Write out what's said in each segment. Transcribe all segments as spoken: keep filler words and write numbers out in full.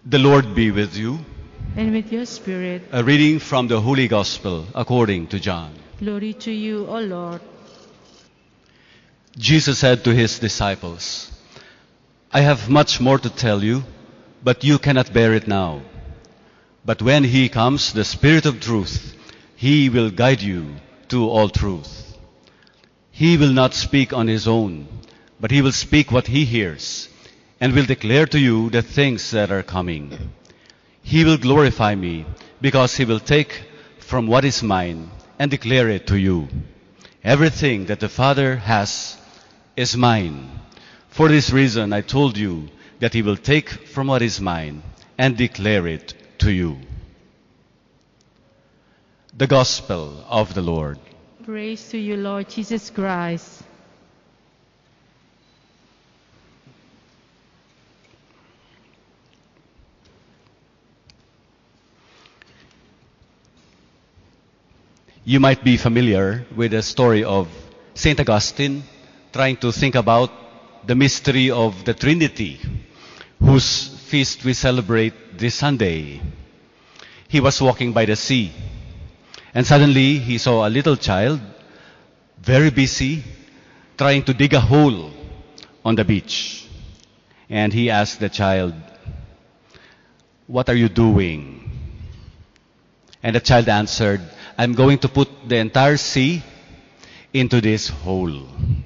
The Lord be with you. And with your spirit. A reading from the Holy Gospel according to John. Glory to you, O Lord. Jesus said to his disciples, I have much more to tell you, but you cannot bear it now. But when he comes, the Spirit of truth, he will guide you to all truth. He will not speak on his own, but he will speak what he hears, and will declare to you the things that are coming. He will glorify me, because he will take from what is mine and declare it to you. Everything that the Father has is mine. For this reason I told you that he will take from what is mine and declare it to you. The Gospel of the Lord. Praise to you, Lord Jesus Christ. You might be familiar with the story of Saint Augustine trying to think about the mystery of the Trinity, whose feast we celebrate this Sunday. He was walking by the sea, and suddenly he saw a little child, very busy, trying to dig a hole on the beach. And he asked the child, "What are you doing?" And the child answered, "I'm going to put the entire sea into this hole."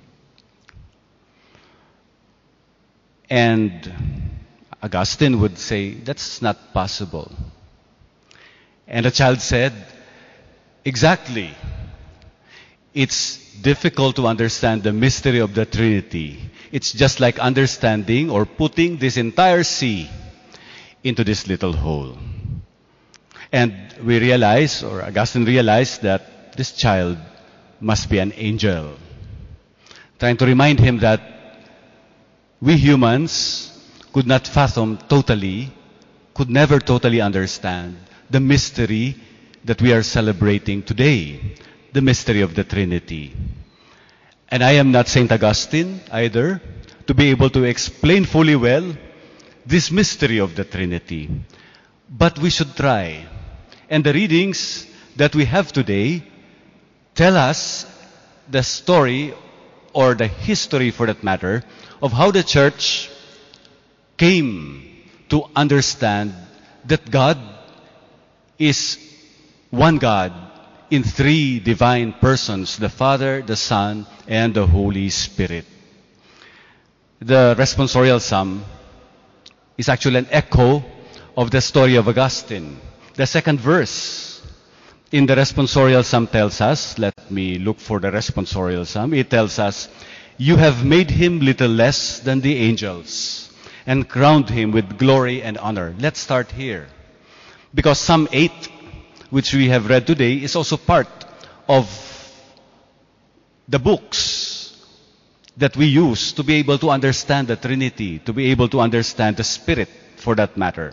And Augustine would say, "That's not possible." And the child said, "Exactly. It's difficult to understand the mystery of the Trinity. It's just like understanding or putting this entire sea into this little hole." And we realize, or Augustine realized, that this child must be an angel, trying to remind him that we humans could not fathom totally, could never totally understand the mystery that we are celebrating today, the mystery of the Trinity. And I am not Saint Augustine either, to be able to explain fully well this mystery of the Trinity. But we should try. And the readings that we have today tell us the story, or the history for that matter, of how the church came to understand that God is one God in three divine persons, the Father, the Son, and the Holy Spirit. The responsorial psalm is actually an echo of the story of Augustine. The second verse in the responsorial psalm tells us, let me look for the responsorial psalm, it tells us, "You have made him little less than the angels and crowned him with glory and honor." Let's start here. Because Psalm eight, which we have read today, is also part of the books that we use to be able to understand the Trinity, to be able to understand the Spirit for that matter.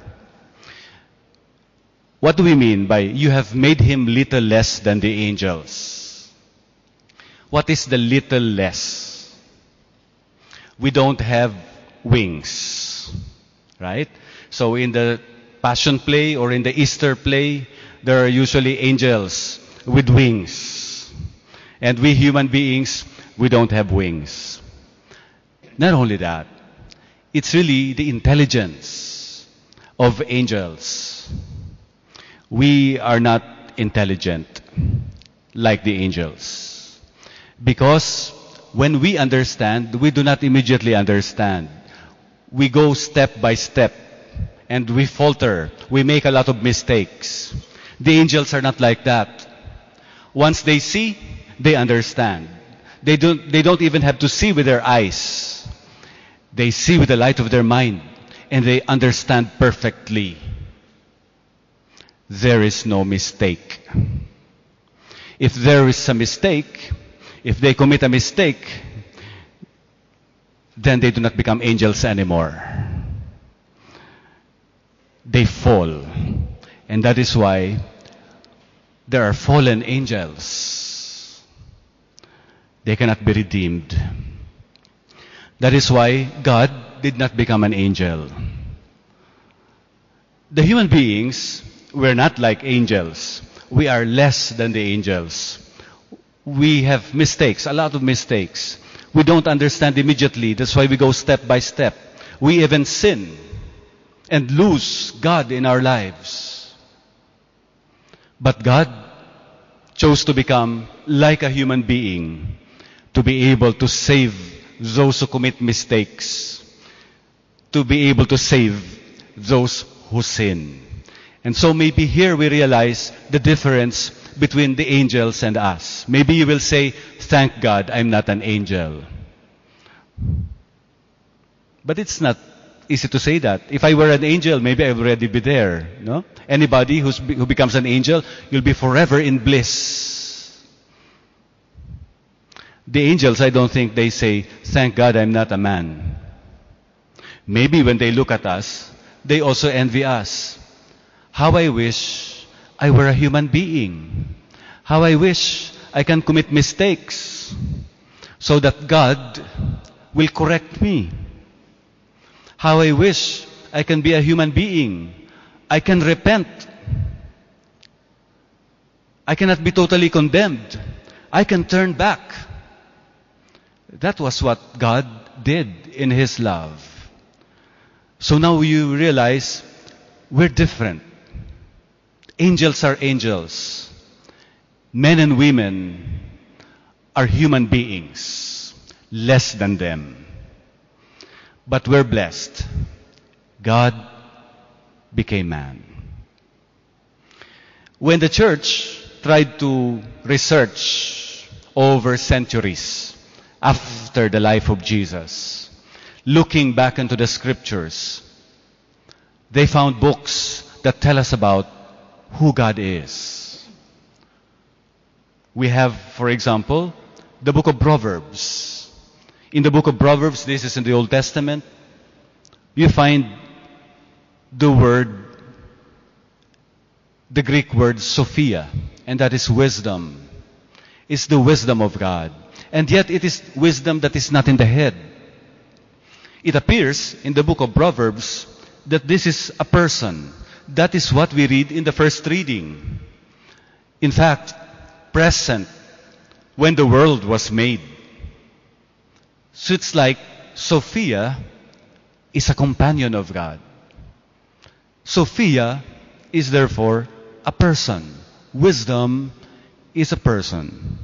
What do we mean by "you have made him little less than the angels"? What is the little less? We don't have wings, right? So in the Passion Play or in the Easter play, there are usually angels with wings. And we human beings, we don't have wings. Not only that, it's really the intelligence of angels. We are not intelligent like the angels. Because when we understand, we do not immediately understand. We go step by step and we falter. We make a lot of mistakes. The angels are not like that. Once they see, they understand. They don't, they don't even have to see with their eyes. They see with the light of their mind, and they understand perfectly. There is no mistake. If there is a mistake, if they commit a mistake, then they do not become angels anymore. They fall. And that is why there are fallen angels. They cannot be redeemed. That is why God did not become an angel. The human beings, we're not like angels. We are less than the angels. We have mistakes, a lot of mistakes. We don't understand immediately. That's why we go step by step. We even sin and lose God in our lives. But God chose to become like a human being to be able to save those who commit mistakes, to be able to save those who sin. And so maybe here we realize the difference between the angels and us. Maybe you will say, thank God I'm not an angel. But it's not easy to say that. If I were an angel, maybe I would already be there. No? Anybody who's, who becomes an angel, you'll be forever in bliss. The angels, I don't think they say, thank God I'm not a man. Maybe when they look at us, they also envy us. How I wish I were a human being. How I wish I can commit mistakes so that God will correct me. How I wish I can be a human being. I can repent. I cannot be totally condemned. I can turn back. That was what God did in His love. So now you realize we're different. Angels are angels. Men and women are human beings, less than them. But we're blessed. God became man. When the church tried to research over centuries after the life of Jesus, looking back into the scriptures, they found books that tell us about who God is. We have, for example, the book of Proverbs. In the book of Proverbs, this is in the Old Testament, you find the word, the Greek word Sophia, and that is wisdom. It's the wisdom of God. And yet it is wisdom that is not in the head. It appears in the book of Proverbs that this is a person. That is what we read in the first reading. In fact, present when the world was made. So it's like Sophia is a companion of God. Sophia is therefore a person. Wisdom is a person.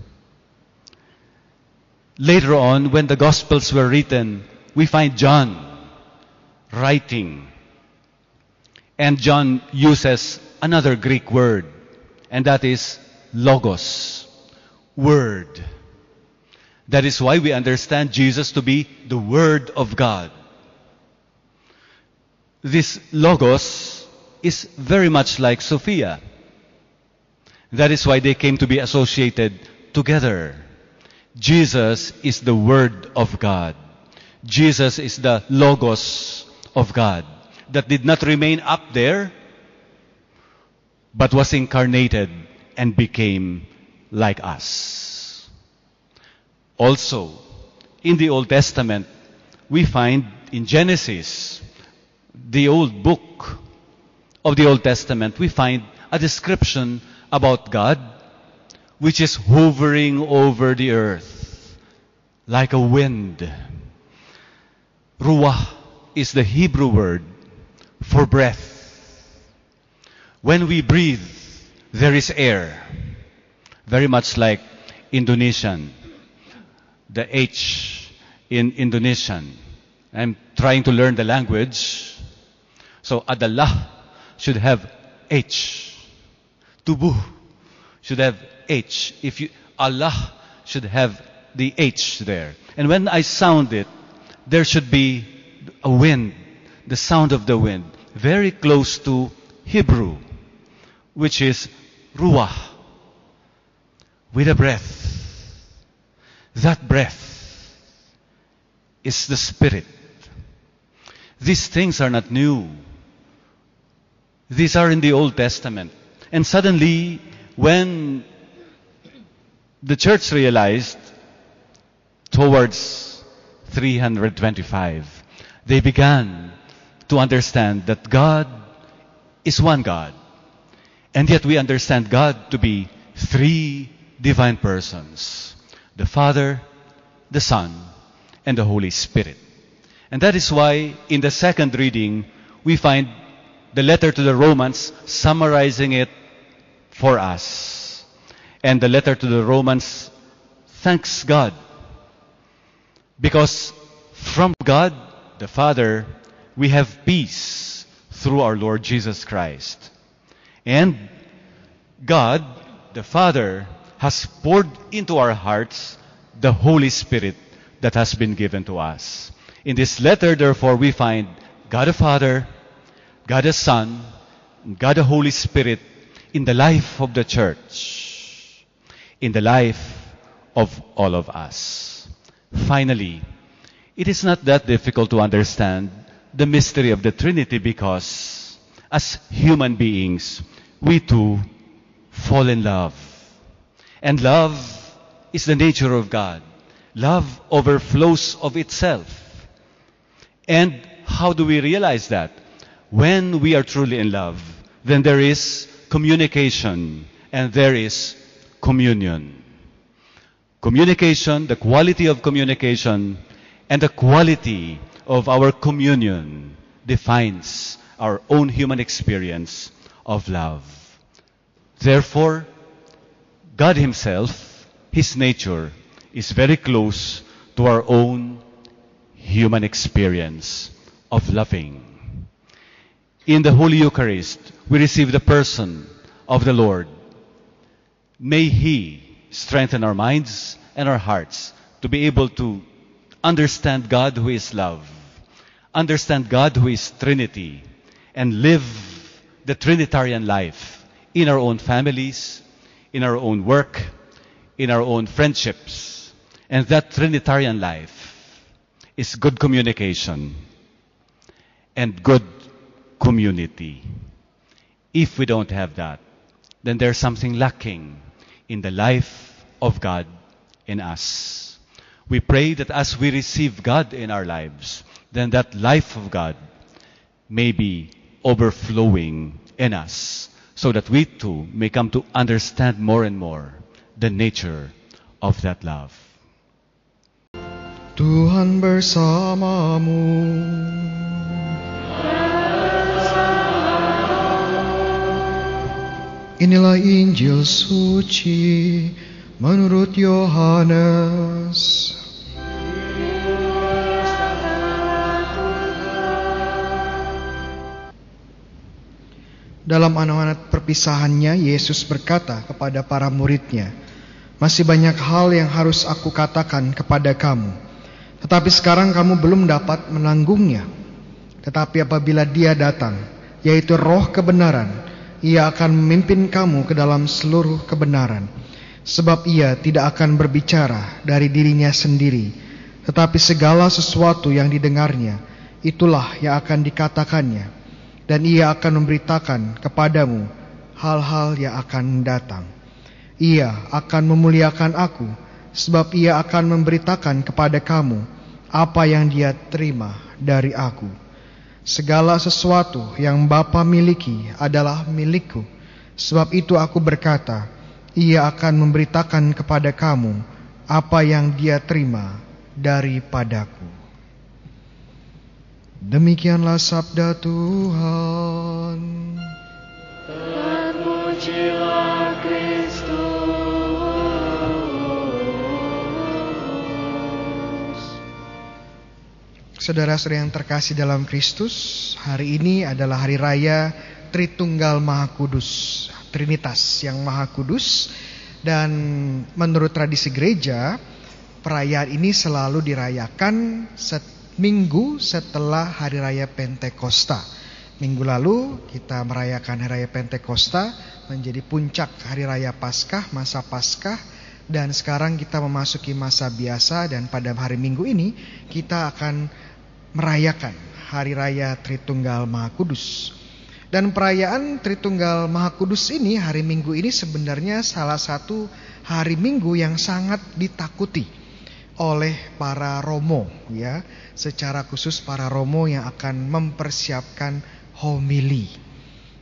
Later on, when the Gospels were written, we find John writing. And John uses another Greek word, and that is logos, word. That is why we understand Jesus to be the Word of God. This logos is very much like Sophia. That is why they came to be associated together. Jesus is the Word of God. Jesus is the logos of God that did not remain up there, but was incarnated and became like us. Also, in the Old Testament, we find in Genesis, the old book of the Old Testament, we find a description about God, which is hovering over the earth like a wind. Ruah is the Hebrew word for breath. When we breathe, there is air. Very much like Indonesian. The H in Indonesian. I'm trying to learn the language. So adalah should have H. Tubuh should have H. If you Allah should have the H there. And when I sound it, there should be a wind, the sound of the wind, very close to Hebrew, which is ruah, with a breath. That breath is the Spirit. These things are not new. These are in the Old Testament. And suddenly, when the church realized, towards three hundred twenty-five, they began to understand that God is one God. And yet we understand God to be three divine persons: the Father, the Son, and the Holy Spirit. And that is why in the second reading, we find the letter to the Romans summarizing it for us. And the letter to the Romans thanks God, because from God, the Father, we have peace through our Lord Jesus Christ. And God, the Father, has poured into our hearts the Holy Spirit that has been given to us. In this letter, therefore, we find God the Father, God the Son, and God the Holy Spirit in the life of the church, in the life of all of us. Finally, it is not that difficult to understand the mystery of the Trinity, because as human beings, we too fall in love. And love is the nature of God. Love overflows of itself. And how do we realize that? When we are truly in love, then there is communication and there is communion. Communication, the quality of communication, and the quality of our communion defines our own human experience of love. Therefore, God Himself, His nature, is very close to our own human experience of loving. In the Holy Eucharist, we receive the person of the Lord. May He strengthen our minds and our hearts to be able to understand God who is love, understand God who is Trinity, and live the Trinitarian life in our own families, in our own work, in our own friendships. And that Trinitarian life is good communication and good community. If we don't have that, then there's something lacking in the life of God in us. We pray that as we receive God in our lives, then that life of God may be overflowing in us, so that we too may come to understand more and more the nature of that love. Tuhan bersamamu. Inilah Injil suci menurut Yohanes. Dalam anugerah perpisahannya, Yesus berkata kepada para murid-Nya, "Masih banyak hal yang harus aku katakan kepada kamu, tetapi sekarang kamu belum dapat menanggungnya. Tetapi apabila Dia datang, yaitu Roh kebenaran, Ia akan memimpin kamu ke dalam seluruh kebenaran. Sebab Ia tidak akan berbicara dari dirinya sendiri, tetapi segala sesuatu yang didengarnya, itulah yang akan dikatakannya. Dan Ia akan memberitakan kepadamu hal-hal yang akan datang. Ia akan memuliakan aku, sebab Ia akan memberitakan kepada kamu apa yang Dia terima dari aku. Segala sesuatu yang Bapa miliki adalah milikku. Sebab itu aku berkata, Ia akan memberitakan kepada kamu apa yang Dia terima daripadaku." Demikianlah sabda Tuhan. Terpujilah Kristus. Saudara-saudara yang terkasih dalam Kristus, hari ini adalah hari raya Tritunggal Maha Kudus, Trinitas yang Maha Kudus. Dan menurut tradisi gereja, perayaan ini selalu dirayakan setiap minggu setelah Hari Raya Pentakosta. Minggu lalu kita merayakan Hari Raya Pentakosta menjadi puncak Hari Raya Paskah, masa Paskah. Dan sekarang kita memasuki masa biasa, dan pada hari Minggu ini kita akan merayakan Hari Raya Tritunggal Maha Kudus. Dan perayaan Tritunggal Maha Kudus ini, hari Minggu ini sebenarnya salah satu hari Minggu yang sangat ditakuti oleh para romo, ya, secara khusus para romo yang akan mempersiapkan homili.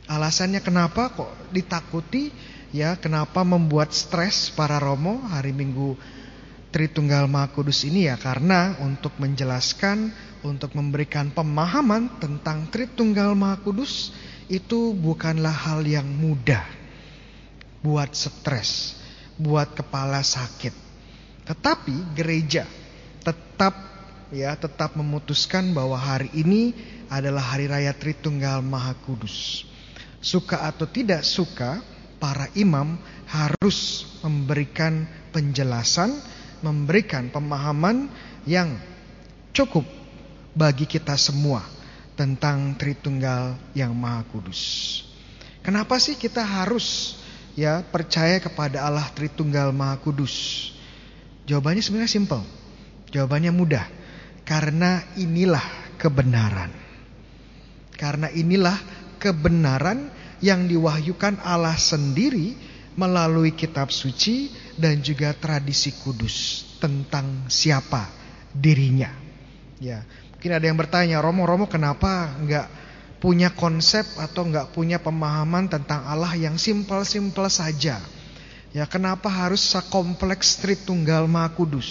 Alasannya kenapa kok ditakuti? Ya, kenapa membuat stres para romo hari Minggu Tritunggal Maha Kudus ini? Ya karena untuk menjelaskan, untuk memberikan pemahaman tentang Tritunggal Maha Kudus itu bukanlah hal yang mudah. Buat stres, buat kepala sakit. Tetapi gereja tetap ya tetap memutuskan bahwa hari ini adalah hari raya Tritunggal Maha Kudus. Suka atau tidak suka, para imam harus memberikan penjelasan, memberikan pemahaman yang cukup bagi kita semua tentang Tritunggal yang Maha Kudus. Kenapa sih kita harus ya percaya kepada Allah Tritunggal Maha Kudus? Jawabannya sebenarnya simpel. Jawabannya mudah. Karena inilah kebenaran. Karena inilah kebenaran yang diwahyukan Allah sendiri melalui kitab suci dan juga tradisi kudus tentang siapa dirinya. Ya, mungkin ada yang bertanya, Romo-romo kenapa enggak punya konsep atau enggak punya pemahaman tentang Allah yang simpel-simpel saja? Ya, kenapa harus sekompleks Tritunggal Maha Kudus?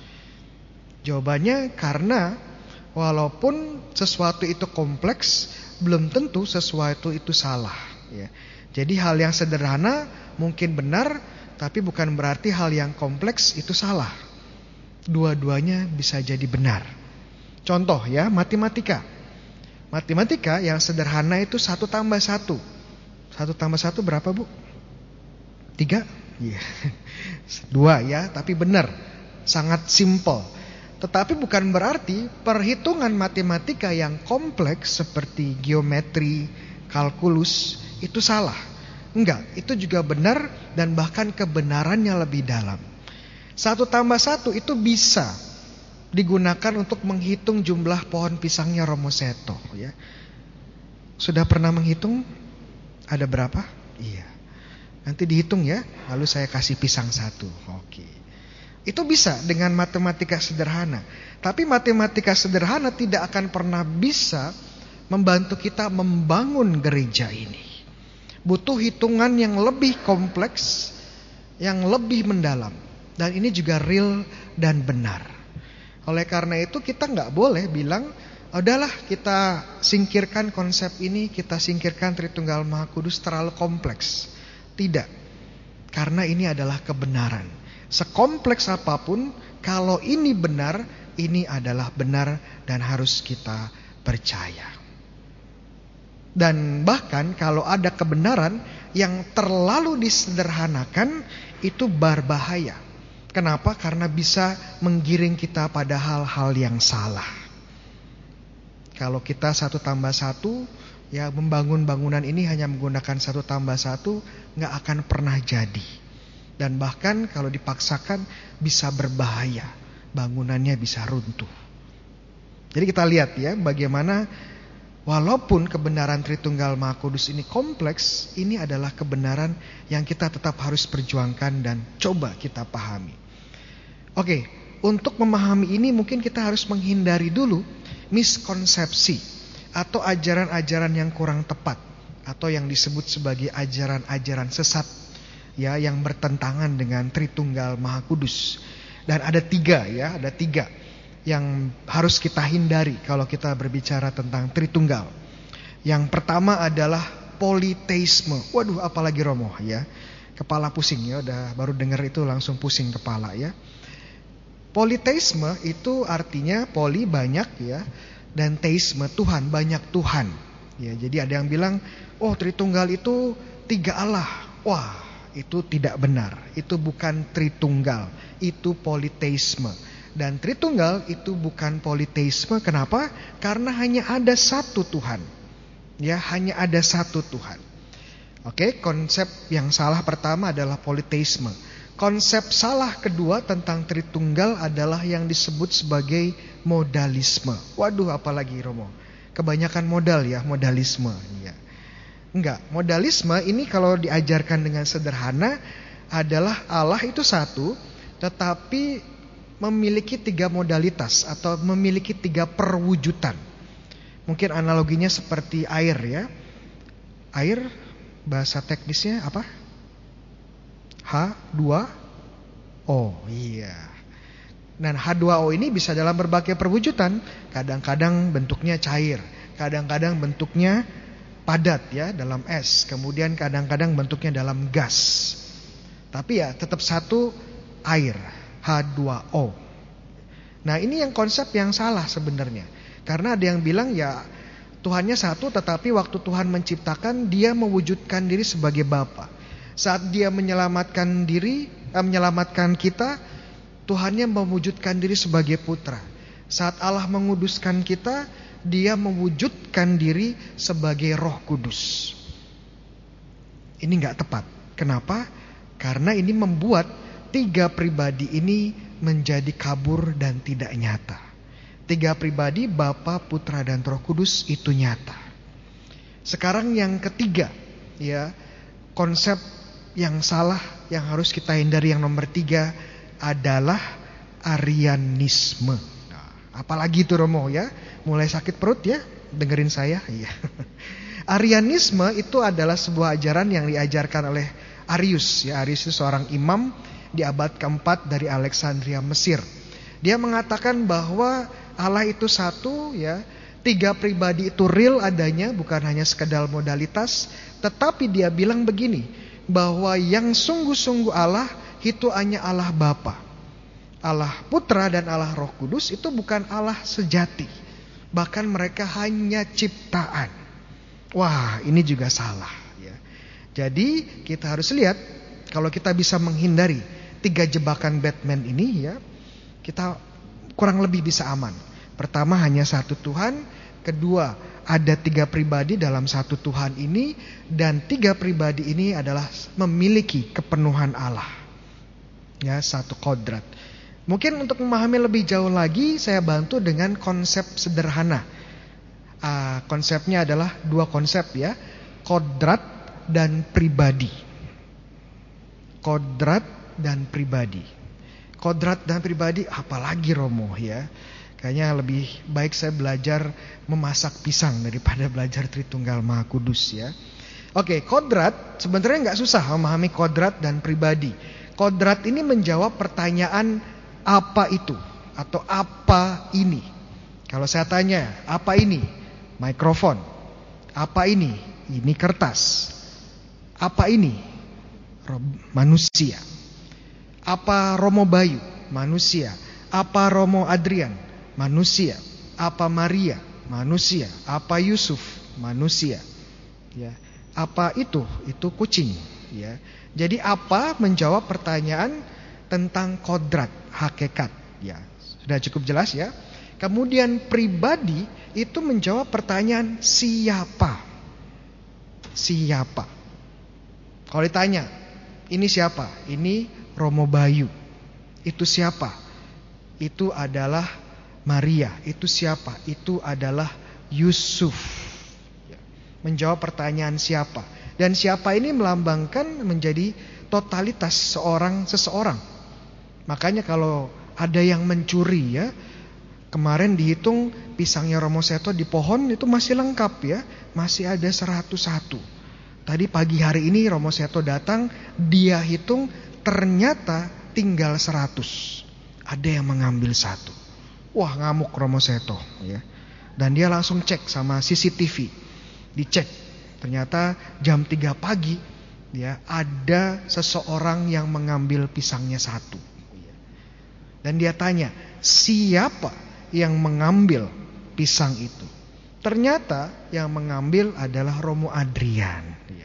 Jawabannya karena walaupun sesuatu itu kompleks, belum tentu sesuatu itu salah. Ya. Jadi hal yang sederhana mungkin benar, tapi bukan berarti hal yang kompleks itu salah. Dua-duanya bisa jadi benar. Contoh ya, matematika. Matematika yang sederhana itu satu tambah satu. Satu tambah satu berapa bu? Tiga? Iya. Dua ya, tapi benar. Sangat simple. Tetapi bukan berarti perhitungan matematika yang kompleks seperti geometri, kalkulus itu salah. Enggak, itu juga benar dan bahkan kebenarannya lebih dalam. Satu tambah satu itu bisa digunakan untuk menghitung jumlah pohon pisangnya Romo Seto. Ya. Sudah pernah menghitung? Ada berapa? Iya. Nanti dihitung ya, lalu saya kasih pisang satu. Oke. Itu bisa dengan matematika sederhana. Tapi matematika sederhana tidak akan pernah bisa membantu kita membangun gereja ini. Butuh hitungan yang lebih kompleks, yang lebih mendalam. Dan ini juga real dan benar. Oleh karena itu kita nggak boleh bilang, udahlah kita singkirkan konsep ini, kita singkirkan Tritunggal Maha Kudus terlalu kompleks. Tidak. Karena ini adalah kebenaran. Sekompleks apapun, kalau ini benar, ini adalah benar dan harus kita percaya. Dan bahkan kalau ada kebenaran yang terlalu disederhanakan, itu berbahaya. Kenapa? Karena bisa menggiring kita pada hal-hal yang salah. Kalau kita satu tambah satu, ya membangun bangunan ini hanya menggunakan satu tambah satu, gak akan pernah jadi. Dan bahkan kalau dipaksakan bisa berbahaya. Bangunannya bisa runtuh. Jadi kita lihat ya bagaimana walaupun kebenaran Tritunggal Maha Kudus ini kompleks, ini adalah kebenaran yang kita tetap harus perjuangkan dan coba kita pahami. Oke, untuk memahami ini mungkin kita harus menghindari dulu miskonsepsi atau ajaran-ajaran yang kurang tepat atau yang disebut sebagai ajaran-ajaran sesat. Ya, yang bertentangan dengan Tritunggal Maha Kudus. Dan ada tiga ya, ada tiga yang harus kita hindari kalau kita berbicara tentang Tritunggal. Yang pertama adalah politeisme. Waduh, apalagi Romo ya. Kepala pusing ya, udah baru dengar itu langsung pusing kepala ya. Politeisme itu artinya poli banyak ya, dan teisme Tuhan, banyak Tuhan. Ya, jadi ada yang bilang, "Oh, Tritunggal itu tiga Allah." Wah, itu tidak benar. Itu bukan Tritunggal, itu politeisme. Dan Tritunggal itu bukan politeisme. Kenapa? Karena hanya ada satu Tuhan. Ya, hanya ada satu Tuhan. Oke, konsep yang salah pertama adalah politeisme. Konsep salah kedua tentang Tritunggal adalah yang disebut sebagai modalisme. Waduh, apalagi Romo? Kebanyakan modal ya, modalisme. Ya. Enggak, modalisme ini kalau diajarkan dengan sederhana adalah Allah itu satu, tetapi memiliki tiga modalitas atau memiliki tiga perwujudan. Mungkin analoginya seperti air ya. Air bahasa teknisnya apa? H dua O. Iya. Dan H dua O ini bisa dalam berbagai perwujudan. Kadang-kadang bentuknya cair, kadang-kadang bentuknya padat ya dalam es, kemudian kadang-kadang bentuknya dalam gas. Tapi ya tetap satu, air, H dua O. Nah, ini yang konsep yang salah sebenarnya. Karena ada yang bilang ya Tuhannya satu, tetapi waktu Tuhan menciptakan dia mewujudkan diri sebagai Bapa. Saat dia menyelamatkan diri, eh, menyelamatkan kita, Tuhannya mewujudkan diri sebagai putra. Saat Allah menguduskan kita, dia mewujudkan diri sebagai Roh Kudus. Ini gak tepat. Kenapa? Karena ini membuat tiga pribadi ini menjadi kabur dan tidak nyata. Tiga pribadi, Bapa, Putra, dan Roh Kudus itu nyata. Sekarang yang ketiga, ya, konsep yang salah yang harus kita hindari, yang nomor tiga adalah Arianisme. Nah, apalagi itu Romo ya, mulai sakit perut ya, dengerin saya. Iya. Arianisme itu adalah sebuah ajaran yang diajarkan oleh Arius. Ya, Arius itu seorang imam di abad keempat dari Alexandria, Mesir. Dia mengatakan bahwa Allah itu satu, ya, tiga pribadi itu real adanya, bukan hanya sekedar modalitas. Tetapi dia bilang begini, bahwa yang sungguh-sungguh Allah itu hanya Allah Bapa. Allah Putra dan Allah Roh Kudus itu bukan Allah sejati. Bahkan mereka hanya ciptaan. Wah, ini juga salah ya. Jadi kita harus lihat, kalau kita bisa menghindari tiga jebakan Batman ini ya, kita kurang lebih bisa aman. Pertama, hanya satu Tuhan. Kedua, ada tiga pribadi dalam satu Tuhan ini. Dan tiga pribadi ini adalah memiliki kepenuhan Allah. Ya, satu kodrat. Mungkin untuk memahami lebih jauh lagi, saya bantu dengan konsep sederhana. Uh, konsepnya adalah dua konsep ya, kodrat dan pribadi. Kodrat dan pribadi. Kodrat dan pribadi, apalagi Romo ya. Kayaknya lebih baik saya belajar memasak pisang daripada belajar Tritunggal Maha Kudus ya. Oke, kodrat sebenarnya nggak susah memahami kodrat dan pribadi. Kodrat ini menjawab pertanyaan apa itu atau apa ini. Kalau saya tanya, apa ini? Mikrofon. Apa ini? Ini kertas. Apa ini? Manusia. Apa Romo Bayu? Manusia. Apa Romo Adrian? Manusia. Apa Maria? Manusia. Apa Yusuf? Manusia. Ya. Apa itu? Itu kucing. Ya. Jadi apa menjawab pertanyaan tentang kodrat, hakikat. Ya, sudah cukup jelas ya. Kemudian pribadi itu menjawab pertanyaan siapa. Siapa. Kalau ditanya, ini siapa? Ini Romo Bayu. Itu siapa? Itu adalah Maria. Itu siapa? Itu adalah Yusuf. Ya. Menjawab pertanyaan siapa. Dan siapa ini melambangkan menjadi totalitas seorang seseorang. Makanya kalau ada yang mencuri ya, kemarin dihitung pisangnya Romo Seto di pohon itu masih lengkap ya, masih ada seratus satu. Tadi pagi hari ini Romo Seto datang, dia hitung ternyata tinggal seratus. Ada yang mengambil satu. Wah, ngamuk Romo Seto ya. Dan dia langsung cek sama C C T V. Dicek. Ternyata jam tiga pagi ya, ada seseorang yang mengambil pisangnya satu. Dan dia tanya, siapa yang mengambil pisang itu? Ternyata yang mengambil adalah Romo Adrian.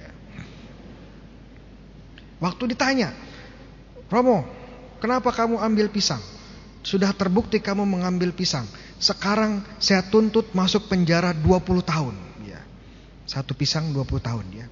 Waktu ditanya, Romo, kenapa kamu ambil pisang? Sudah terbukti kamu mengambil pisang. Sekarang saya tuntut masuk penjara dua puluh tahun. Satu pisang dua puluh tahun ya.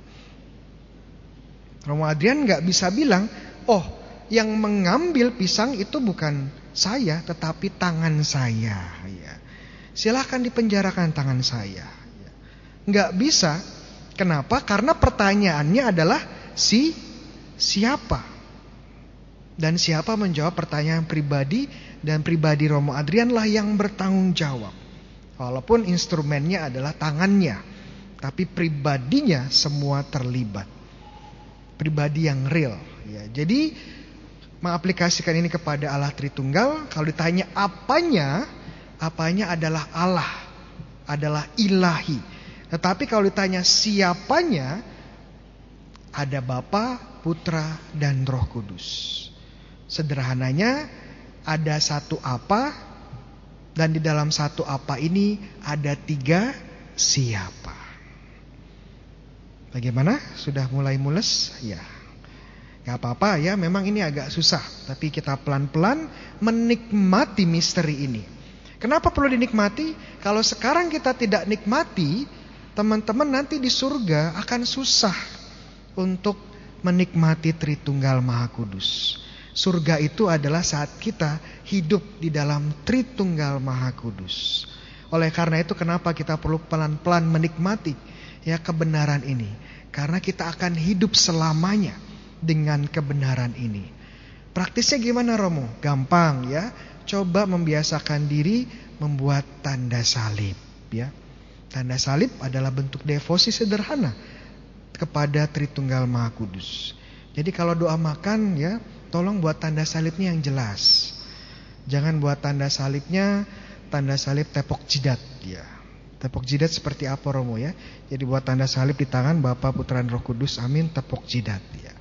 Romo Adrian gak bisa bilang, oh yang mengambil pisang itu bukan saya, tetapi tangan saya ya. Silahkan dipenjarakan tangan saya ya. Gak bisa. Kenapa? Karena pertanyaannya adalah si siapa. Dan siapa menjawab pertanyaan pribadi. Dan pribadi Romo Adrian lah yang bertanggung jawab. Walaupun instrumennya adalah tangannya. tapi pribadinya semua terlibat. Pribadi yang real. Ya, jadi mengaplikasikan ini kepada Allah Tritunggal, kalau ditanya apanya, apanya adalah Allah, adalah ilahi. Tetapi kalau ditanya siapanya, ada Bapa, Putra, dan Roh Kudus. Sederhananya, ada satu apa, dan di dalam satu apa ini ada tiga siapa. Bagaimana? Sudah mulai mules? Ya. Gak apa-apa ya, memang ini agak susah. Tapi kita pelan-pelan menikmati misteri ini. Kenapa perlu dinikmati? Kalau sekarang kita tidak nikmati, teman-teman nanti di surga akan susah untuk menikmati Tritunggal Maha Kudus. Surga itu adalah saat kita hidup di dalam Tritunggal Maha Kudus. Oleh karena itu kenapa kita perlu pelan-pelan menikmati ya kebenaran ini. Karena kita akan hidup selamanya dengan kebenaran ini. Praktisnya gimana Romo? Gampang ya. Coba membiasakan diri membuat tanda salib ya. Tanda salib adalah bentuk devosi sederhana kepada Tritunggal Maha Kudus. Jadi kalau doa makan ya, tolong buat tanda salibnya yang jelas. Jangan buat tanda salibnya tanda salib tepok jidat ya. Tepok jidat seperti apa Romo ya? Jadi buat tanda salib di tangan Bapa, Putra, dan Roh Kudus. Amin, tepok jidat ya.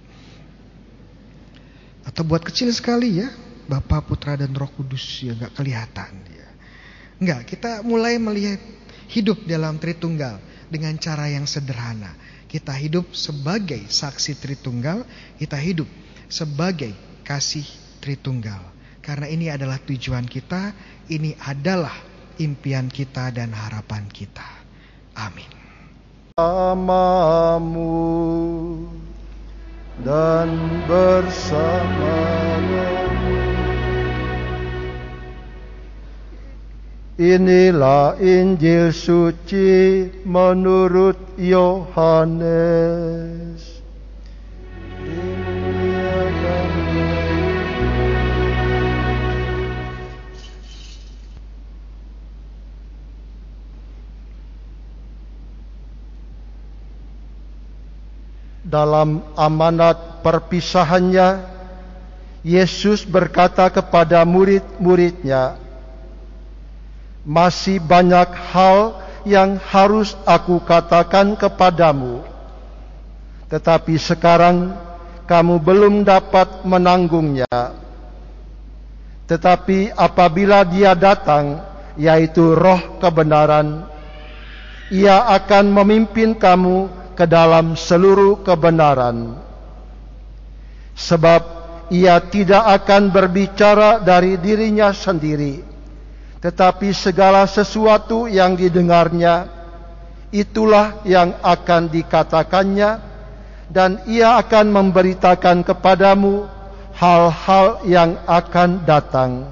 Atau buat kecil sekali ya, Bapa, Putra, dan Roh Kudus ya, nggak kelihatan ya. Enggak, kita mulai melihat hidup dalam Tritunggal dengan cara yang sederhana. Kita hidup sebagai saksi Tritunggal, kita hidup sebagai kasih Tritunggal. Karena ini adalah tujuan kita, ini adalah impian kita dan harapan kita. Amin. Bersamamu dan bersamanya. Inilah Injil suci menurut Yohanes. Dalam amanat perpisahannya, Yesus berkata kepada murid-muridnya, "Masih banyak hal yang harus aku katakan kepadamu, tetapi sekarang kamu belum dapat menanggungnya. Tetapi apabila Dia datang, yaitu Roh kebenaran, Ia akan memimpin kamu ke dalam seluruh kebenaran. Sebab Ia tidak akan berbicara dari dirinya sendiri, tetapi segala sesuatu yang didengarnya, itulah yang akan dikatakannya, dan Ia akan memberitakan kepadamu hal-hal yang akan datang.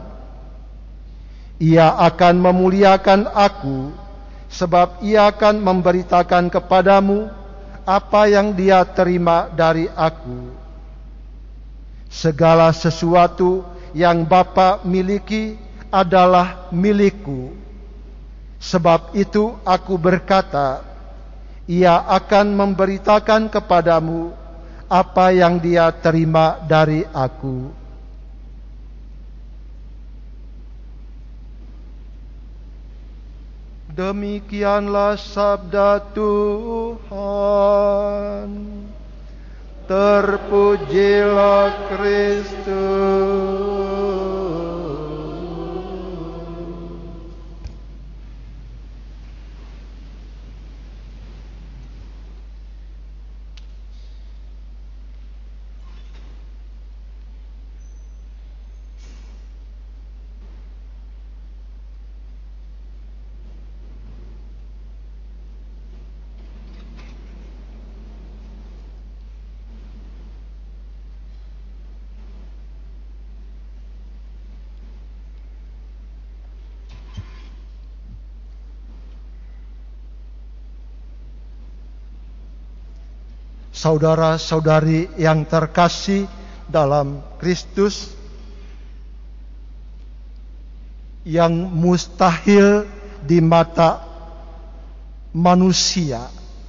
Ia akan memuliakan aku, sebab Ia akan memberitakan kepadamu apa yang Dia terima dari aku. Segala sesuatu yang Bapa miliki adalah milikku. Sebab itu aku berkata, Ia akan memberitakan kepadamu apa yang Dia terima dari aku. Demikianlah sabda Tuhan. Terpujilah Kristus. Saudara-saudari yang terkasih dalam Kristus, yang mustahil di mata manusia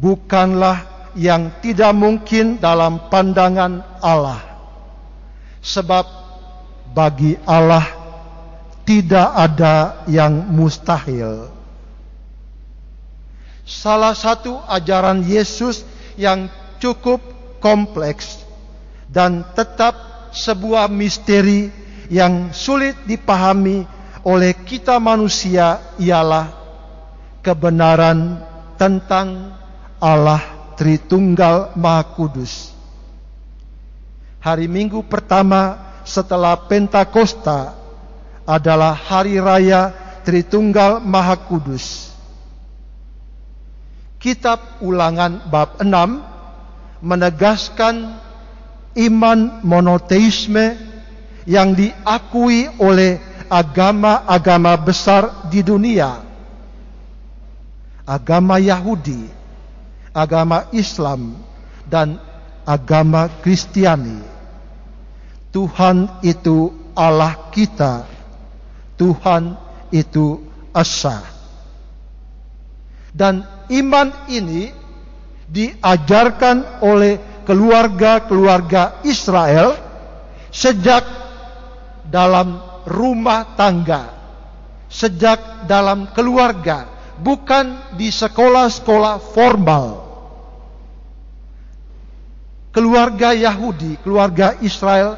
bukanlah yang tidak mungkin dalam pandangan Allah. Sebab bagi Allah tidak ada yang mustahil. Salah satu ajaran Yesus yang cukup kompleks dan tetap sebuah misteri yang sulit dipahami oleh kita manusia ialah kebenaran tentang Allah Tritunggal Maha Kudus. Hari Minggu pertama setelah Pentakosta adalah hari raya Tritunggal Maha Kudus. Kitab Ulangan bab enam menegaskan iman monoteisme yang diakui oleh agama-agama besar di dunia. Agama Yahudi, agama Islam, dan agama Kristiani. Tuhan itu Allah kita. Tuhan itu Esa. Dan iman ini diajarkan oleh keluarga-keluarga Israel sejak dalam rumah tangga, sejak dalam keluarga, bukan di sekolah-sekolah formal. Keluarga Yahudi, keluarga Israel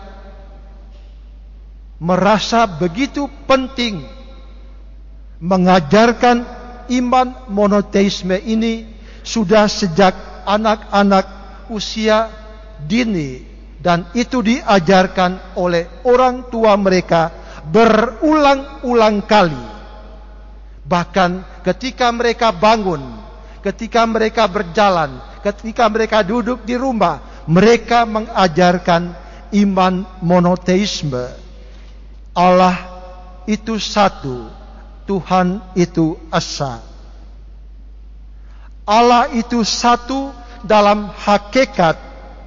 merasa begitu penting mengajarkan iman monoteisme ini sudah sejak anak-anak usia dini, dan itu diajarkan oleh orang tua mereka berulang-ulang kali. Bahkan ketika mereka bangun, ketika mereka berjalan, ketika mereka duduk di rumah, mereka mengajarkan iman monoteisme. Allah itu satu, Tuhan itu Esa. Allah itu satu dalam hakikat,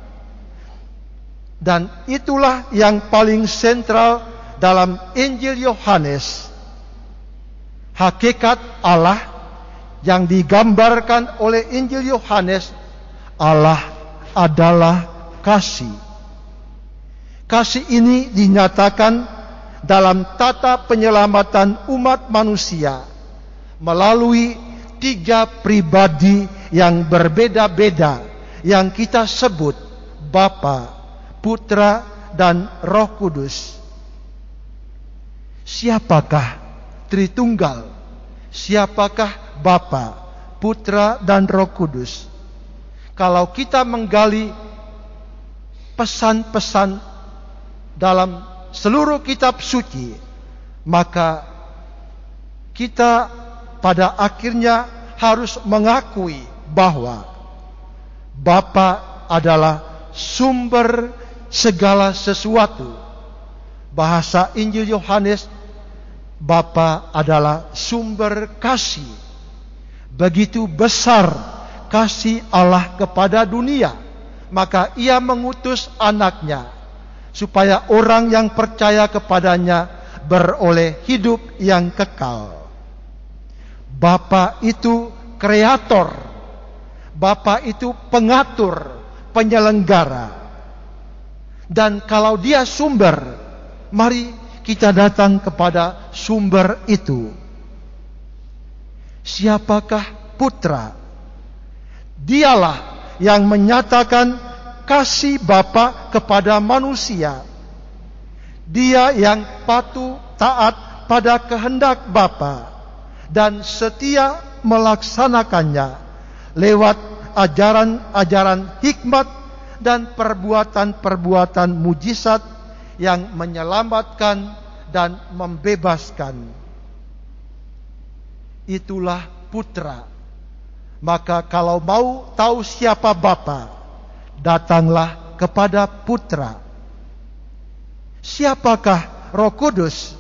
dan itulah yang paling sentral dalam Injil Yohanes. Hakikat Allah yang digambarkan oleh Injil Yohanes, Allah adalah kasih. Kasih ini dinyatakan dalam tata penyelamatan umat manusia melalui tiga pribadi yang berbeda-beda yang kita sebut Bapa, Putra, dan Roh Kudus. Siapakah Tritunggal? Siapakah Bapa, Putra, dan Roh Kudus? Kalau kita menggali pesan-pesan dalam seluruh kitab suci, maka kita pada akhirnya harus mengakui bahwa Bapa adalah sumber segala sesuatu. Bahasa Injil Yohanes, Bapa adalah sumber kasih. Begitu besar kasih Allah kepada dunia, maka Ia mengutus anaknya supaya orang yang percaya kepadanya beroleh hidup yang kekal. Bapa itu kreator, Bapa itu pengatur, penyelenggara. Dan kalau Dia sumber, mari kita datang kepada sumber itu. Siapakah Putra? Dialah yang menyatakan kasih Bapa kepada manusia. Dia yang patuh taat pada kehendak Bapa dan setia melaksanakannya lewat ajaran-ajaran hikmat dan perbuatan-perbuatan mujizat yang menyelamatkan dan membebaskan. Itulah Putra. Maka kalau mau tahu siapa Bapa, datanglah kepada Putra. Siapakah Roh Kudus?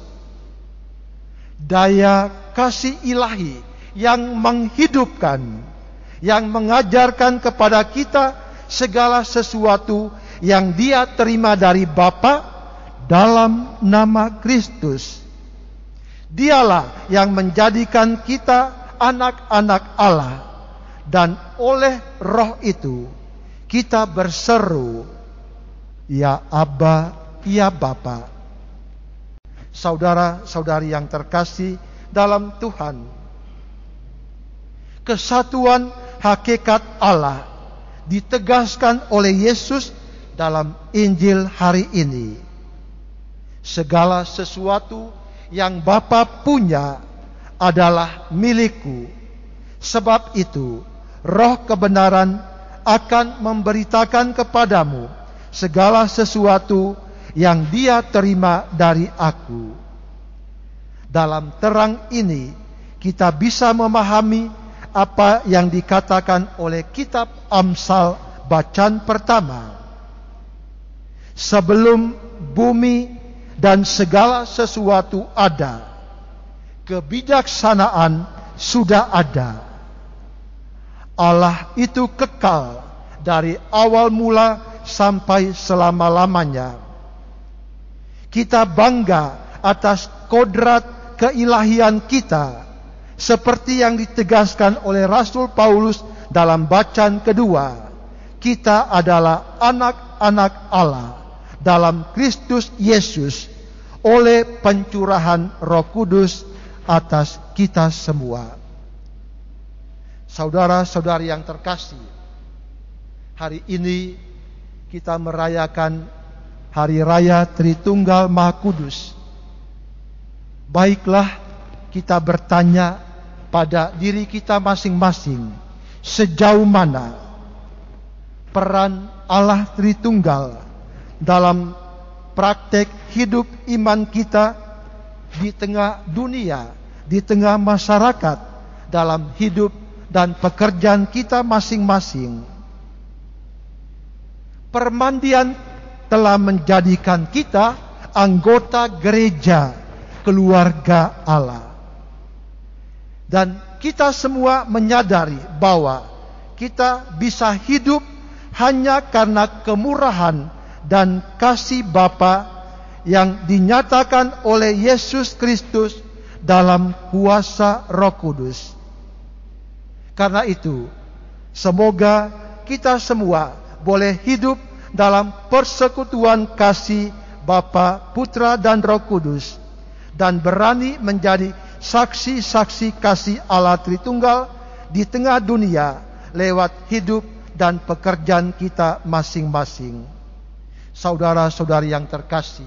Daya kasih ilahi yang menghidupkan, yang mengajarkan kepada kita segala sesuatu yang Dia terima dari Bapa dalam nama Kristus. Dialah yang menjadikan kita anak-anak Allah dan oleh Roh itu kita berseru, "Ya Aba, ya Bapa." Saudara-saudari yang terkasih dalam Tuhan, kesatuan hakikat Allah ditegaskan oleh Yesus dalam Injil hari ini. Segala sesuatu yang Bapa punya adalah milikku. Sebab itu, Roh kebenaran akan memberitakan kepadamu segala sesuatu yang Dia terima dari aku. Dalam terang ini, kita bisa memahami apa yang dikatakan oleh kitab Amsal bacaan pertama. Sebelum bumi dan segala sesuatu ada, kebijaksanaan sudah ada. Allah itu kekal dari awal mula sampai selama-lamanya. Kita bangga atas kodrat keilahian kita, seperti yang ditegaskan oleh Rasul Paulus dalam bacaan kedua. Kita adalah anak-anak Allah dalam Kristus Yesus oleh pencurahan Roh Kudus atas kita semua. Saudara-saudari yang terkasih, hari ini kita merayakan Hari Raya Tritunggal Maha Kudus. Baiklah kita bertanya pada diri kita masing-masing, sejauh mana peran Allah Tritunggal dalam praktek hidup iman kita di tengah dunia, di tengah masyarakat, dalam hidup dan pekerjaan kita masing-masing. Permandian telah menjadikan kita anggota gereja keluarga Allah. Dan kita semua menyadari bahwa kita bisa hidup hanya karena kemurahan dan kasih Bapa yang dinyatakan oleh Yesus Kristus dalam kuasa Roh Kudus. Karena itu, semoga kita semua boleh hidup dalam persekutuan kasih Bapa, Putra dan Roh Kudus, dan berani menjadi saksi-saksi kasih Allah Tritunggal di tengah dunia lewat hidup dan pekerjaan kita masing-masing. Saudara-saudari yang terkasih,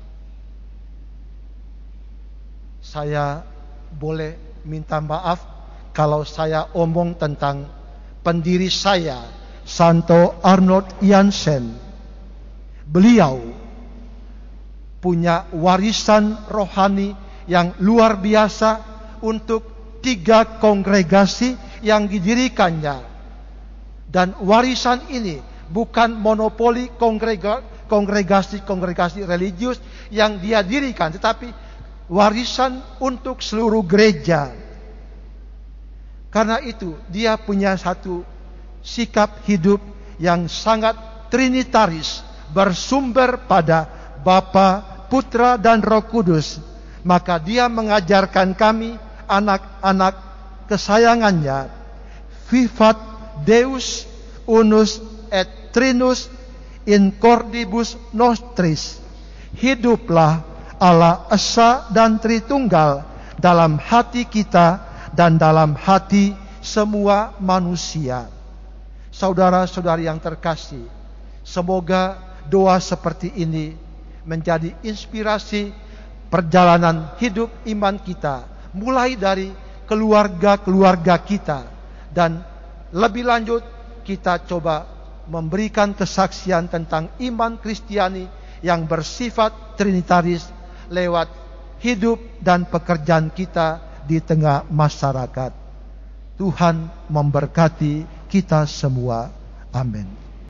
saya boleh minta maaf kalau saya omong tentang pendiri saya, Santo Arnold Jansen. Beliau punya warisan rohani yang luar biasa untuk tiga kongregasi yang didirikannya. Dan warisan ini bukan monopoli kongrega, kongregasi-kongregasi religius yang dia dirikan, tetapi warisan untuk seluruh gereja. Karena itu dia punya satu sikap hidup yang sangat trinitaris, bersumber pada Bapa, Putra dan Roh Kudus. Maka dia mengajarkan kami, anak-anak kesayangannya, vivat Deus unus et trinus in cordibus nostris. Hiduplah Allah Esa dan Tritunggal dalam hati kita dan dalam hati semua manusia. Saudara-saudari yang terkasih, semoga doa seperti ini menjadi inspirasi perjalanan hidup iman kita, mulai dari keluarga-keluarga kita, dan lebih lanjut kita coba memberikan kesaksian tentang iman Kristiani yang bersifat trinitaris lewat hidup dan pekerjaan kita di tengah masyarakat. Tuhan memberkati kita semua. Amin.